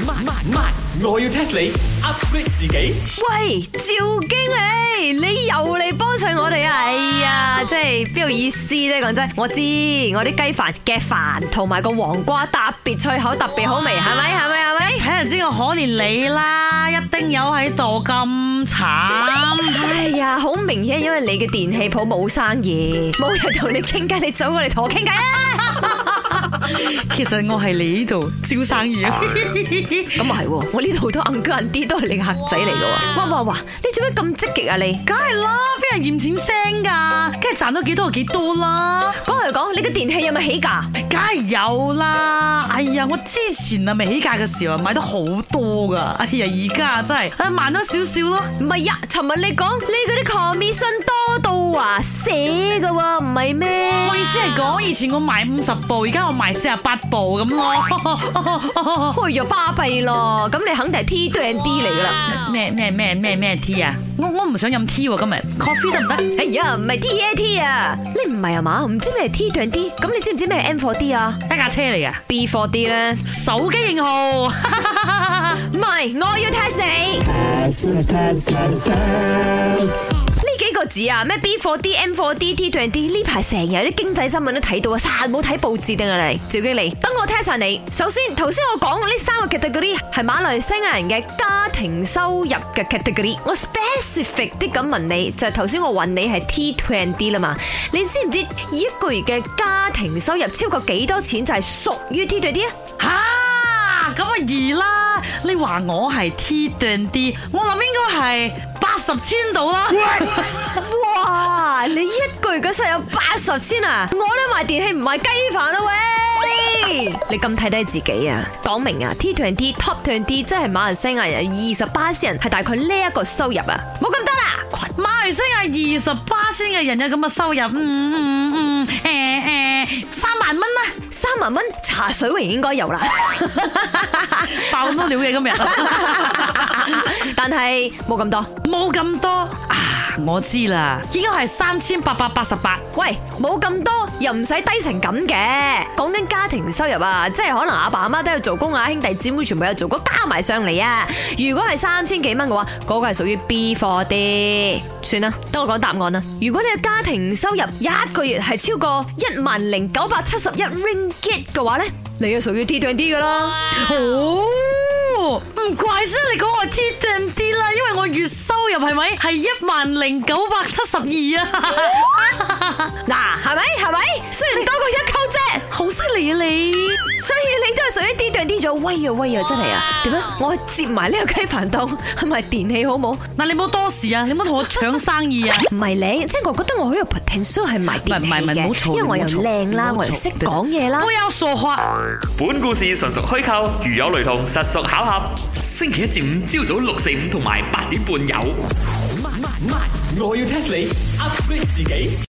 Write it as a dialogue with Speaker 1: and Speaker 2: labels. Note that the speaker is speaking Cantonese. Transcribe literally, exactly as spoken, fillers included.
Speaker 1: 慢慢慢，我要 test 你 upgrade 自己。
Speaker 2: 喂，趙經理，你又嚟幫襯我哋啊！哎呀，即係邊有意思啫？講真，我知我啲雞飯嘅飯同埋個黃瓜特別脆口，特別好味，係咪？係咪？係咪？
Speaker 3: 睇就知我可憐你啦，一丁友喺度咁慘。
Speaker 2: 哎呀，好明顯，因為你嘅電器鋪冇生意，冇人同你傾偈，你走過嚟同我傾偈啊！
Speaker 3: 其實我係你呢度招生意啊，
Speaker 2: 咁啊係，我呢度好多硬哥硬啲都係你嘅客仔嚟嘅。哇哇哇！你做咩咁積極啊你？
Speaker 3: 梗係啦，邊人嫌錢聲噶，梗係賺到幾多就幾多啦。
Speaker 2: 講嚟講，你嘅電器有冇起價？
Speaker 3: 梗係有啦。哎呀，我之前啊未起價嘅時候買得好多噶，哎呀而家真係啊慢咗少少咯。
Speaker 2: 唔係呀，尋日你講你嗰啲 commission 多到話寫噶喎，唔係咩？
Speaker 3: 我意思係講，以前我賣五十部，而家我賣四十八部咁咯。
Speaker 2: 開咗巴閉咯，咁你肯定係 T 對 D 嚟噶啦。
Speaker 3: 咩咩咩咩咩 T 啊？我我唔想飲 T 喎，今日 coffee 得唔得？
Speaker 2: 哎呀，唔係 T A T 啊，你唔係啊嘛？唔知咩係 T 對 D？咁你知唔知咩係 M 四 D 啊？
Speaker 3: 一架車嚟噶
Speaker 2: B 四 D 咧，
Speaker 3: 手機型號。
Speaker 2: 唔係，我要 test 你。呢幾個字啊，咩 B 四 D、M 四 D、T 對 D 呢排成日啲經濟新聞都睇到啊，實冇睇報紙定係你？趙經理，等我 test 下你。首先，頭先我講呢三個 category 係馬來西亞人嘅家庭收入嘅 category。我 specific 啲咁問你，就係頭先我問你係 T 對 D 啦嘛？你知唔知一個月嘅家庭收入超過幾多錢就係屬於 T 對 D 啊？
Speaker 3: 吓，咁啊易啦！你話我係 T 對 D， 我諗應該係八十千度啦。
Speaker 2: 哇！你一個月嘅收入有八十千啊！我都賣電器唔賣雞飯啊喂！你咁睇低自己啊？講明啊 ，T 對 D top 對 D 即係馬來西亞人二十八仙人係大概呢一個收入啊！冇咁多啦，
Speaker 3: 馬來西亞二十八仙嘅人有咁嘅收入，嗯嗯嗯，誒誒，三萬蚊啦，
Speaker 2: 三萬蚊茶水榮應該有啦，
Speaker 3: 爆咁多料嘅今日，
Speaker 2: 但係冇咁多，
Speaker 3: 冇咁多啊！我知啦，應該係三千八百八十八。
Speaker 2: 喂，冇咁多又唔使低成咁嘅。講緊家庭收入啊，即係可能阿爸阿媽都有做工啊，兄弟姊妹全部有做工，加埋上嚟啊。如果係三千幾蚊嘅話，嗰個係屬於 B 四 D。算啦，等我講答案啦。如果你嘅家庭收入一個月係超過一萬零九百七十一 ringgit 嘅話咧，你就屬於 T 對 D 噶啦。
Speaker 3: 哦，唔怪之你講我 T 對 D 啦，因為我月收入係咪係一萬零九百七十二啊？
Speaker 2: 嗱，係咪係咪？雖然多過一溝啫，
Speaker 3: 好犀利啊你！
Speaker 2: 所以你都係屬於 D 對 D 咗，威啊威啊，真係啊！點樣？我接埋呢個雞飯檔，係咪電器好冇？
Speaker 3: 嗱，你唔好多事啊，你唔好同我搶生意啊！
Speaker 2: 唔係你，即係我覺得我好有 potential 係賣電器
Speaker 3: 唔係唔係唔好嘈，
Speaker 2: 因為我又靚啦，我又識講嘢啦。
Speaker 3: 不要說話。
Speaker 1: 本故事純屬虛構，如有雷同，實屬巧合。星期一至五朝早六四五同埋八點半有。慢慢慢，我要 test 你 upgrade 自己。